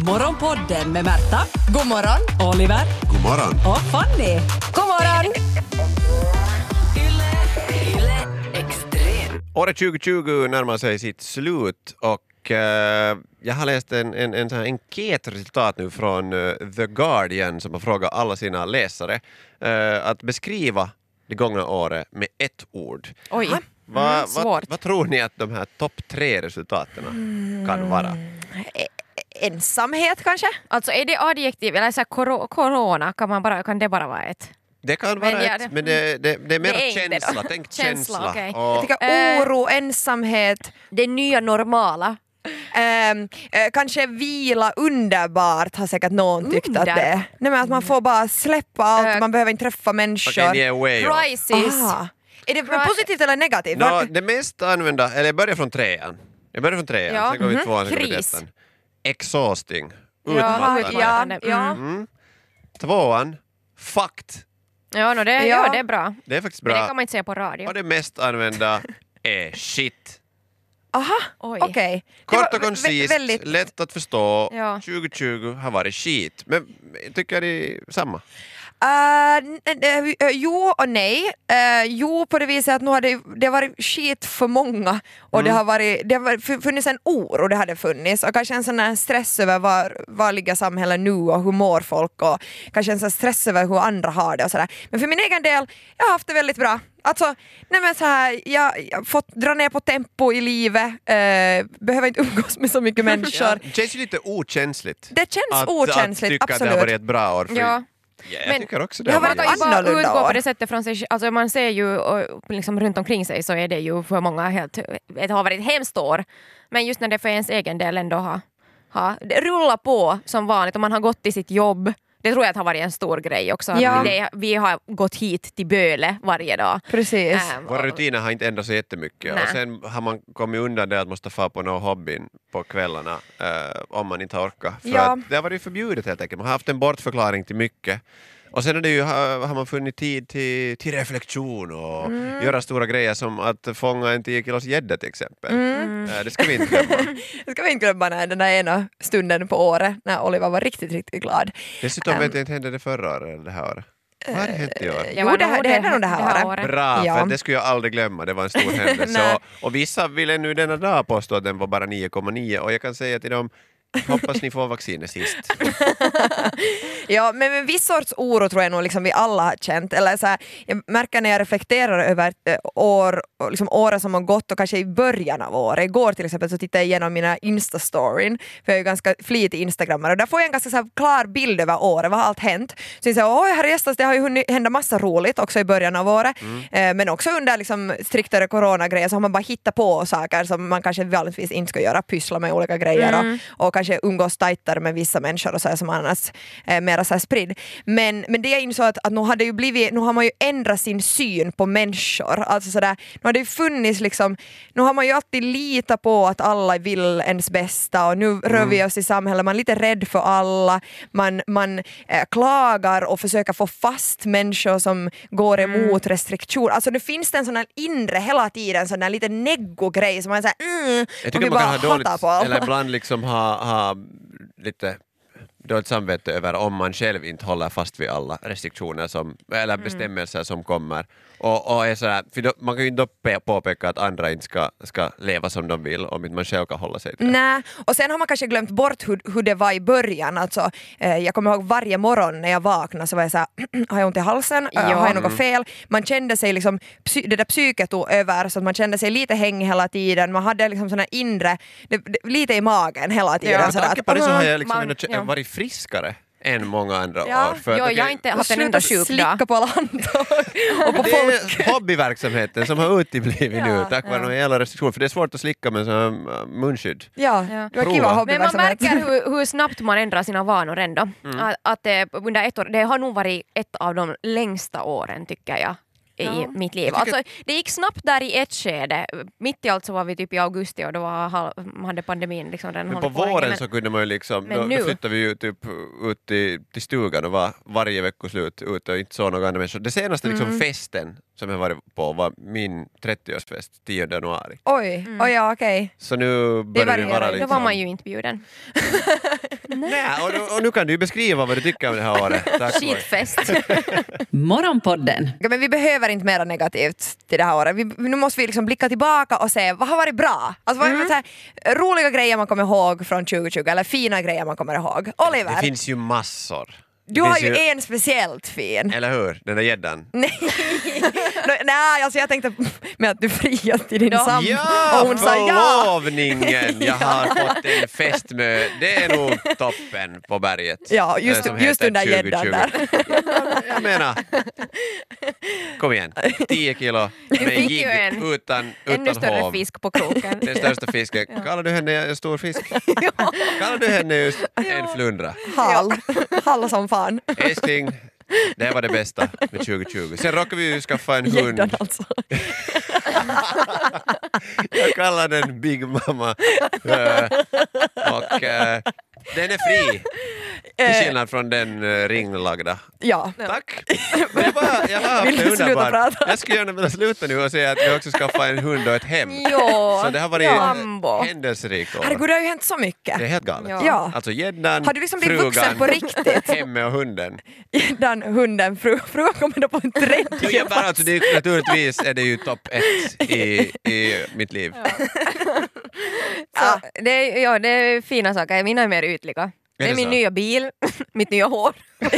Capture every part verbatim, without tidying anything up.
Morgonpodden med Märta, God morgon. Oliver God morgon. och Fanny. God morgon. Året tjugo tjugo närmar sig sitt slut och eh, jag har läst en, en, en sån här enkätresultat nu från eh, The Guardian som har frågat alla sina läsare eh, att beskriva det gångna året med ett ord. Oj, Va, mm, va, svårt. vad tror ni att de här topp tre resultaten kan vara? E- Ensamhet kanske? Alltså är det adjektiv eller så här, koro- corona, kan, man bara, kan det bara vara ett? Det kan Men vara ja, ett, det- men det, det, det är mer Det är inte känsla. då. Tänk Känsla, känsla. okej. Och, Jag tycker Eh. oro, ensamhet, Det nya normala. ehm, eh, kanske vila, underbart har säkert någon tyckt att det är. Underbart. Nej, men att man får bara släppa allt, Eh. man behöver inte träffa människor. Okej, ni är way off. Crisis. Aha. Är det Cry- positivt eller negativt? Nå, Var- det mest använda, eller jag börjar från trean. Jag börjar från trean, Ja, sen går vi mhm. tvåan, sen går vi Kris. ettan. Exhausting. Ja, Utmattande. ja, Mm. ja. Mm. Tvåan, fucked. Ja, no, det, Ja. ja. det är bra. Det är faktiskt Men det bra. kan man inte säga på radio. Och det mest använda är shit. Aha, Oj. okej. Det Kort var och koncist, vä- väldigt- lätt att förstå. Ja. tjugo tjugo har varit skit. Men jag tycker det är samma. Uh, n- n- uh, jo och nej. Uh, jo på det viset att nu har det, det har varit skit för många och Mm. det har varit, det har varit- funnits en oro, det hade funnits och kanske en sån här stress över var, var ligger samhället nu och hur mår folk och kanske en sån här stress över hur andra har det och sådär. Men för min egen del, jag har haft det väldigt bra. Alltså, nej men så här, jag jag har fått dra ner på tempo i livet, uh, behöver inte umgås med så mycket människor. Det känns ju lite okänsligt. Det känns att, okänsligt, att tycka att det absolut. har varit ett bra år. För Ja. Ja, jag Men tycker också det. det har har varit Man varit kan ju bara annorlunda utgå år. på det sättet från sig. Alltså man ser ju och, liksom runt omkring sig så är det ju för många helt, det har varit ett hemskt år. Men just när det för ens egen del ändå har, har det rullar på som vanligt och man har gått till sitt jobb. Det tror jag att har varit en stor grej också. Att Ja. det, vi har gått hit till Böle varje dag. Precis. Ähm, Våra rutiner har inte ändrats så jättemycket. Nej. Och sen har man kommit undan det att man måste få på någon hobbyn på kvällarna eh, om man inte orkar. För Ja. att det har varit förbjudet helt enkelt. Man har haft en bortförklaring till mycket. Och sen är det ju, har, har man funnit tid till, till reflektion och Mm. göra stora grejer som att fånga en tio kilos gädda till exempel. Mm. Eh, det ska vi inte glömma. Det ska vi inte glömma när den där ena stunden på året när Oliver var riktigt, riktigt glad. Dessutom Um, vet jag inte, hände det förra året eller det här året? Vad har det hänt i år? Jo, det här- det hände nog det här året. Bra, Ja. för det skulle jag aldrig glömma. Det var en stor händelse. Nej. och, och vissa vill ännu denna dag påstå att den var bara nio komma nio och jag kan säga till dem, hoppas ni får vaccinet sist. Ja, men en viss sorts oro tror jag nog liksom vi alla har känt. Eller så här, jag märker när jag reflekterar över äh, år, och liksom året som har gått och kanske i början av året. Igår till exempel så tittade jag igenom mina Insta-storyn, för jag är ju ganska flitig instagrammare och där får jag en ganska så här, klar bild över året, vad har allt hänt. Så jag säger, oj herrejösses, det har ju hunnit hända massa roligt också i början av året. Eh, men också under liksom, striktare coronagrejer så har man bara hittat på saker som man kanske vanligtvis inte ska göra, pyssla med olika grejer och, och kanske umgås tajtare med vissa människor och så här, som annars är mera så här spridd. Men, men det jag insåg att, att nu, har det ju blivit, nu har man ju ändrat sin syn på människor. Alltså så där, nu har det ju funnits liksom, nu har man ju alltid litat på att alla vill ens bästa och nu rör vi oss i samhället, man är lite rädd för alla, man, man eh, klagar och försöker få fast människor som går emot restriktioner. Alltså det finns det en sån här inre hela tiden, sån här lite neggo-grej som man säger mm, Jag och tycker vi man kan bara ha dåligt, hatar på alla. eller ibland liksom ha, ha lite dåligt samvete över om man själv inte håller fast vid alla restriktioner som, eller bestämmelser som kommer. Och, och är sådär, för då, man kan ju inte då påpeka att andra inte ska, ska leva som de vill om inte man själv kan hålla sig till det. Nej, och sen har man kanske glömt bort hur, hur det var i början. Alltså, eh, jag kommer ihåg varje morgon när jag vaknade så var jag såhär, har jag ont i halsen? Ja. Ja. Har jag något fel? Man kände sig liksom, psy- det där psyket tog över så att man kände sig lite hängig hela tiden. Man hade liksom såna inre, det, det, lite i magen hela tiden. Ja, Med sådär tanke att, på det så har jag man- liksom ändå kä- ja. varit friskare än många andra Ja. år. För att, Jo, okej, jag har inte haft en sluta enda sjukdag. slicka på alla handtag och på det folk. är hobbyverksamheten som har uteblivit Ja, nu tack vare ja. några jävla restriktioner. För det är svårt att slicka med sån här äh, munskydd. Ja, Ja. det var Prova. kiva Men man hobbyverksamhet. märker hur, hur snabbt man ändrar sina vanor ändå. Att, att det, under ett år, det har nog varit ett av de längsta åren tycker jag i Ja. mitt liv. Jag tycker- Alltså, det gick snabbt där i ett skede. Mitt i allt så var vi typ i augusti och då var, halv- hade pandemin liksom redan Men på hållit på länge, våren men- så kunde man ju liksom, Men då, nu- då flyttade vi ju typ ut till, till stugan och var varje veckoslut ute och inte så några andra människor. Det senaste liksom Mm. festen som jag varit på var min trettioårsfest tionde januari. Oj, oj ja okej. Så nu börjar det varierar vara ju. Då liksom... var man ju inte bjuden. Nej, och, och nu kan du beskriva vad du tycker om det här året. Tack. Skitfest. Morgonpodden. Ja, men vi behöver inte mera negativt till det här året. Vi, nu måste vi liksom blicka tillbaka och se vad har varit bra. Alltså, vad är det så här, roliga grejer man kommer ihåg från tjugo tjugo eller fina grejer man kommer ihåg. Oliver, Det finns ju massor. Det du har finns ju en speciellt fin. Eller hur? Den där gäddan. Nej, no, nej alltså jag tänkte med att du friade till din sambo Ja, och hon sa ja. förlovningen! Jag har fått en fest med... Det är nog toppen på berget. Ja, just, eh, som just heter den där tjugo gäddan tjugo. där. Jag menar, kom igen. tio kilo Du med fick ju jigg en utan, ännu utan större hov. fisk på kroken. Den största fisken. Kallar du henne en stor fisk? Kallar du henne just en flundra? Hall. Hall som fan. Älskling, det var det bästa med tjugo tjugo. Sen råkade vi ju skaffa en hund. Gäddan alltså. Jag kallar den Big Mama. Uh, och uh, den är fri. Till skillnad från den uh, ringlagda. Ja. Tack! Det var, jag har haft Vill det du sluta underbart. prata? Jag skulle gärna vilja sluta nu och säga att vi också skaffat en hund och ett hem. Ja, Så det har varit Jambo. händelserikt år. Herregud, det har ju hänt så mycket. Det är helt galet. Ja. Ja. Alltså gäddan, Har du liksom blivit frugan, vuxen på riktigt? hemmet och hunden. Den hunden, fru, frugan kommer då på en Jo, tredje jag bara, alltså, det, är- naturligtvis är det ju topp ett i, i mitt liv. Så, det, är, ja, det är fina saker. Mina är mer ytliga. Det är det min så? nya bil, mitt nya hår.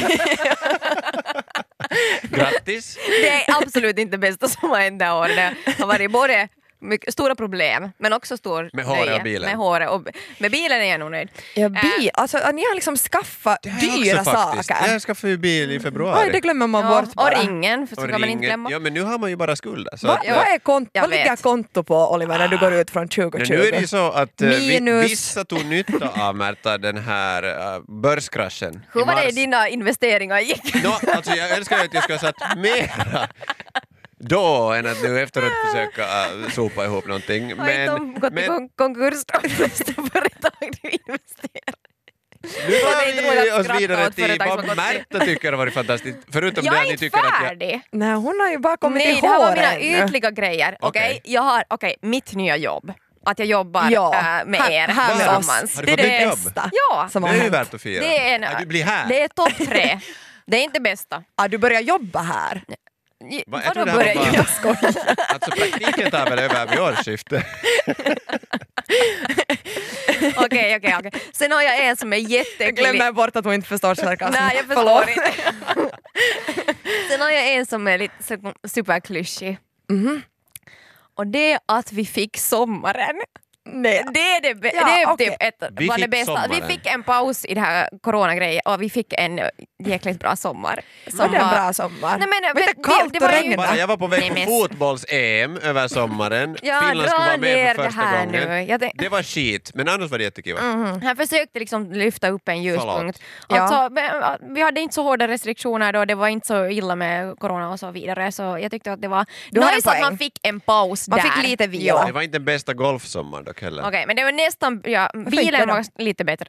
Grattis! Det är absolut inte det bästa som har hänt det här året. Det har varit både mycket, stora problem men också stor Med håret nöje. och bilen. Med håret och med bilen är jag nog nöjd. Ja, bil. Alltså, ni har liksom skaffat Det har jag dyra också faktiskt. saker. Jag skaffade ju bil i februari. Oj, det glömmer man Ja, bort och bara. ringen, för så Och kan man inte ringen. glömma. Ja, men nu har man ju bara skulder. Så Va, att, vad, är kont- Jag vad ligger vet. konto på, Oliver, när du går ut från tjugo men tjugo? nu är det ju så att eh, vi, Minus. vissa tog nytta av Märta, den här uh, börskraschen. Hur i var det mars. dina investeringar gick? Nå, alltså jag önskar att jag skulle ha satt mera då än att nu efteråt försöka uh, sopa ihop någonting. Har inte de gått i men kon- konkurs då? Bästa företag du investerar. nu det är var inte vi roligt att oss skratta vidare åt till företag som vad har gått Märta tycker har varit fantastiskt. Förutom Jag det är att ni inte tycker att jag... färdig. Nej, hon har ju bara kommit Nej, till det här var håret mina ännu. ytliga grejer. Okej, Okej. jag har, okej, mitt nya jobb. Att jag jobbar Ja, äh, med här- er här med tillsammans. oss. Har du Det är fått det nytt jobb? bästa Ja, som Det har är ju hänt. värt att fira. det är, en, Att du blir här. det är topp tre. Det är inte bästa. Ah, du börjar jobba här. Va, jag tror Vadå det här var börjar bara- jag? Skojar. Alltså praktiken tar väl över vid årsskiftet. Okej, okej, okej. Sen har jag en som är Jag jättegullig. glömmer bort att hon inte förstår sarkasm. Nej, jag förstår inte. Sen har jag en som är lite så- superklyschig. Mhm. Och det är att vi fick sommaren. Nej. Det är, det, be- Ja, det är okej. typ ett, Vi var det fick bästa. Vi sommaren. fick en paus i det här coronagrejen och vi fick en jäkligt bra sommar. Var det en bra sommar? Nej, men, Var det vi- kallt det och var ju- regnigt? Bara, jag var på väg Nej, på men- fotbolls-E M över sommaren. Ja, Finland skulle dra vara med ner för det första här gången. nu. Jag tänk- Det var skit, men annars var det jättekul. Mhm. Han försökte liksom lyfta upp en ljuspunkt. Ja. Alltså, men, vi hade inte så hårda restriktioner då, det var inte så illa med corona och så vidare. Så jag tyckte att det var Du har en nice att poäng. man fick en paus Man där. fick lite vila. Ja. Det var inte den bästa golfsommaren dock heller. Okej, men det var nästan, ja, inte bilen då? var lite bättre.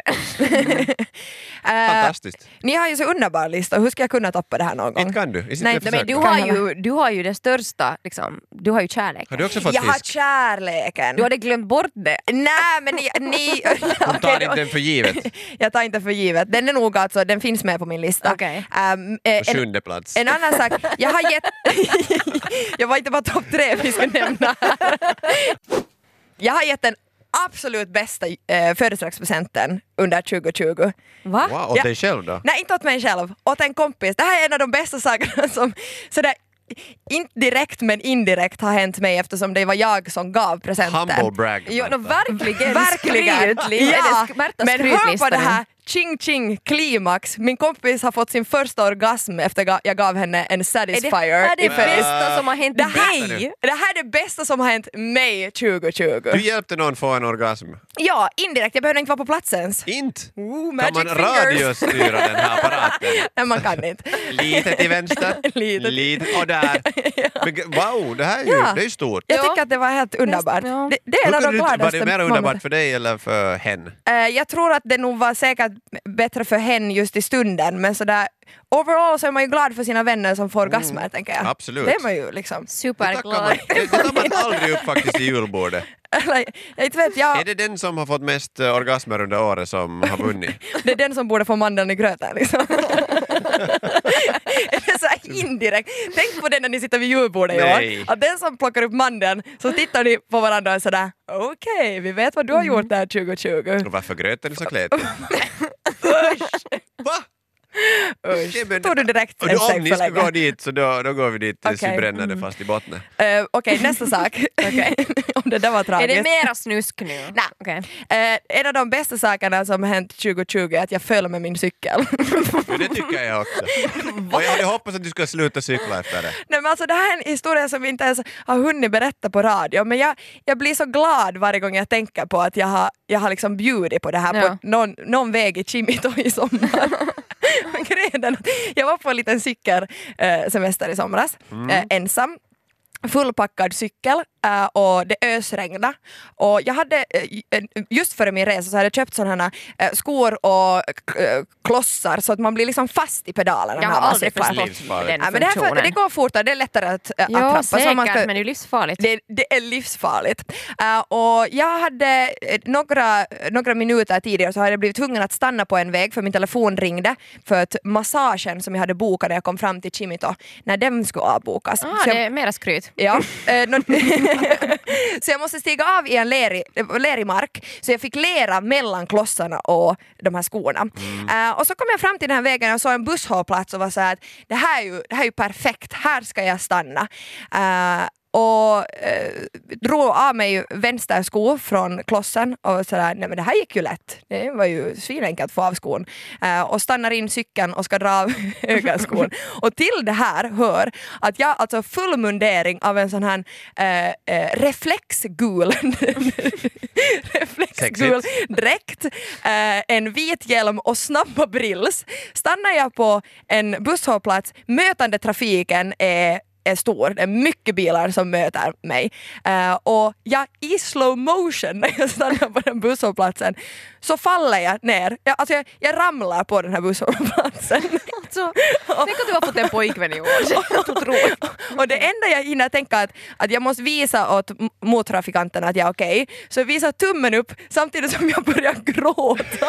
Eh, Fantastiskt. ni har ju så underbar lista, hur ska jag kunna toppa det här någon gång? Inte kan du. I sitt Nej, försök. Men du Kan har, jag ju, du har ju det största, liksom, du har ju kärlek. Har du också fått Jag har fisk? kärleken. Du hade glömt bort det. Nej men ni... ni Hon Okej, tar då- inte den för givet. Jag tar inte för givet. Den är nog alltså, den finns med på min lista. Okej. Um, eh, På en, sjunde plats. en annan sak, jag har gett... jag var inte bara topp tre vi ska nämna här. Jag har gett den absolut bästa eh, födelsedagspresenten under tjugo tjugo. Va? Wow, åt Ja. dig själv då? Nej, inte åt mig själv, åt en kompis. Det här är en av de bästa sakerna som sådär, inte direkt men indirekt har hänt mig eftersom det var jag som gav presenten. Humble brag. Jo, no, verkligen. Verkligen! Skrytlig. Ja, Är det sk- Märtas men hör på skrytlista det nu? här, ching ching klimax. Min kompis har fått sin första orgasm efter ga- jag gav henne en Är det Satisfyer här det i födelsedag. bästa som har hänt Det här, dig? det här är det bästa som har hänt mig tjugo tjugo. Du hjälpte någon få en orgasm. Ja, indirekt. Jag behövde inte vara på plats ens. Inte? Ooh, Kan magic man fingers. radiostyra den här apparaten? Nej, man kan inte. Lite till vänster, Lite. lite och där. Men g- wow, det här är ju, Ja. det är ju stort. Jag Ja. tycker att det var helt underbart. Ja. Det, det är en Hur av de kunde du- Var gladaste det mer momenten. underbart för dig eller för hen? Eh, jag tror att det nog var säkert bättre för henne just i stunden, men sådär overall så är man ju glad för sina vänner som får orgasmer, mm. tänker jag. Absolut. Det är man ju liksom. Superglad. Det, det tar man aldrig upp faktiskt i julbordet. Eller, jag inte vet, jag... Är det den som har fått mest uh, orgasmer under året som har vunnit? Det är den som borde få mandeln i gröten liksom. Det är så här indirekt. Tänk på det när ni sitter vid julbordet i år. Att den som plockar upp mandeln, så tittar ni på varandra och sådär, okej, okay, vi vet vad du har gjort där tjugo tjugo. Och varför gröten är så kletig? Va? Usch, tog du direkt och en då, om steg ni för ska länge. gå dit så då, då går vi dit tills Okay. vi bränner mm. det fast i botten. Uh, Okej, okay, nästa sak. Okay. Om det där var tragiskt. Är det mera snusk nu? Nej. Okay. Uh, en av de bästa sakerna som har hänt tjugo tjugo är att jag föll med min cykel. Men det tycker jag också. Och jag hade hoppats att du skulle sluta cykla efter det. Nej, men alltså, det här är en historia som vi inte ens har hunnit berätta på radio, men jag, jag blir så glad varje gång jag tänker på att jag har, jag har liksom bjudit på det här ja. på någon, någon väg i Chimito i sommar. Jag var på en liten cykelsemester i somras, mm. äh, ensam. Fullpackad cykel äh, och det ösregnade. Och jag hade, äh, just före min resa så hade jag köpt sådana äh, skor och äh, klossar så att man blir liksom fast i pedalerna. Jag har aldrig förstått den ja, men det, här, det går fortare, det är lättare att, äh, jo, att trappa. säkert, så man ska, men det är livsfarligt. Det, det är livsfarligt. Uh, och jag hade uh, några, några minuter tidigare så hade jag blivit tvungen att stanna på en väg för min telefon ringde för att massagen som jag hade bokat när jag kom fram till Chimito, när den skulle avbokas. Ah, så det jag, är mera skryt. Ja, eh, no, så jag måste stiga av i en lerig, lerig mark, så jag fick lera mellan klossarna och de här skorna. Mm. Uh, och så kom jag fram till den här vägen och såg en busshållplats och var så här att det här är ju, det här är ju perfekt, här ska jag stanna. Uh, och eh, drog av mig vänster sko från klossen och sådär, nej men det här gick ju lätt. Det var ju svinenkelt att få av skon. Eh, och stannar in cykeln och ska dra av högerskon. Och till det här hör att jag alltså full mundering av en sån här eh, eh, reflexgul reflexgul dräkt, eh, en vit hjälm och snabba brills. Stannar jag på en busshållplats, mötande trafiken är är stor. Det är mycket bilar som möter mig. Uh, och jag i slow motion när jag stannar på den busshållplatsen så faller jag ner. Jag, alltså jag, jag ramlar på den här busshållplatsen. Alltså, tänk att du har fått en pojkvän i år. Och det enda jag hinner tänka att, att jag måste visa åt mottrafikanterna att jag är okej. Okay. Så jag visar tummen upp samtidigt som jag börjar gråta.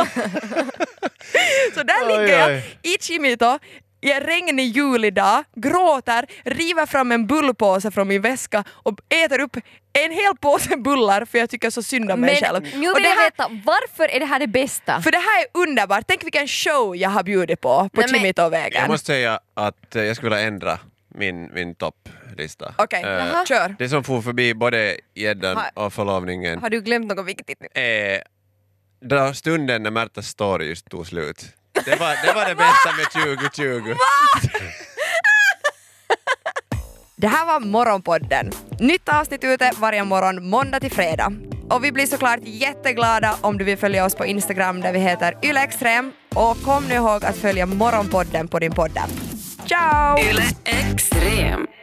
Så där oj, ligger jag oj. i Chimito i en regnig julidag, gråter, river fram en bullpåse från min väska och äter upp en hel påse bullar för jag tycker så synd om mig men, själv. Nu vill det jag här, veta, varför är det här det bästa? för det här är underbart. Tänk vilken show jag har bjudit på på Chimito-vägen. Jag måste säga att jag skulle vilja ändra min, min topplista. Okej, okay. uh, kör. Det som får förbi både gäddan och förlovningen. Har du glömt något viktigt nu? Är då stunden när Märtas story just tog slut. Det var det, var det bästa med tjugo tjugo. Det här var Morgonpodden. Nytt avsnitt ute varje morgon måndag till fredag. Och vi blir såklart jätteglada om du vill följa oss på Instagram där vi heter Yle Extrem. Och kom nu ihåg att följa Morgonpodden på din podd. Ciao! Yle Extrem.